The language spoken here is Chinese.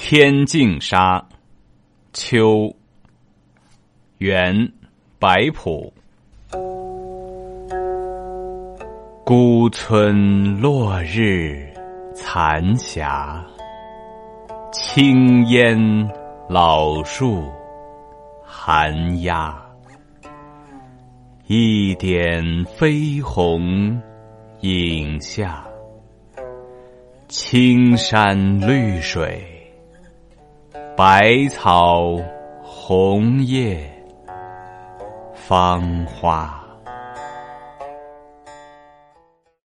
天净沙，秋，元，白朴。孤村落日残霞，青烟老树寒鸦。一点飞鸿影下，青山绿水，百草红叶芳花。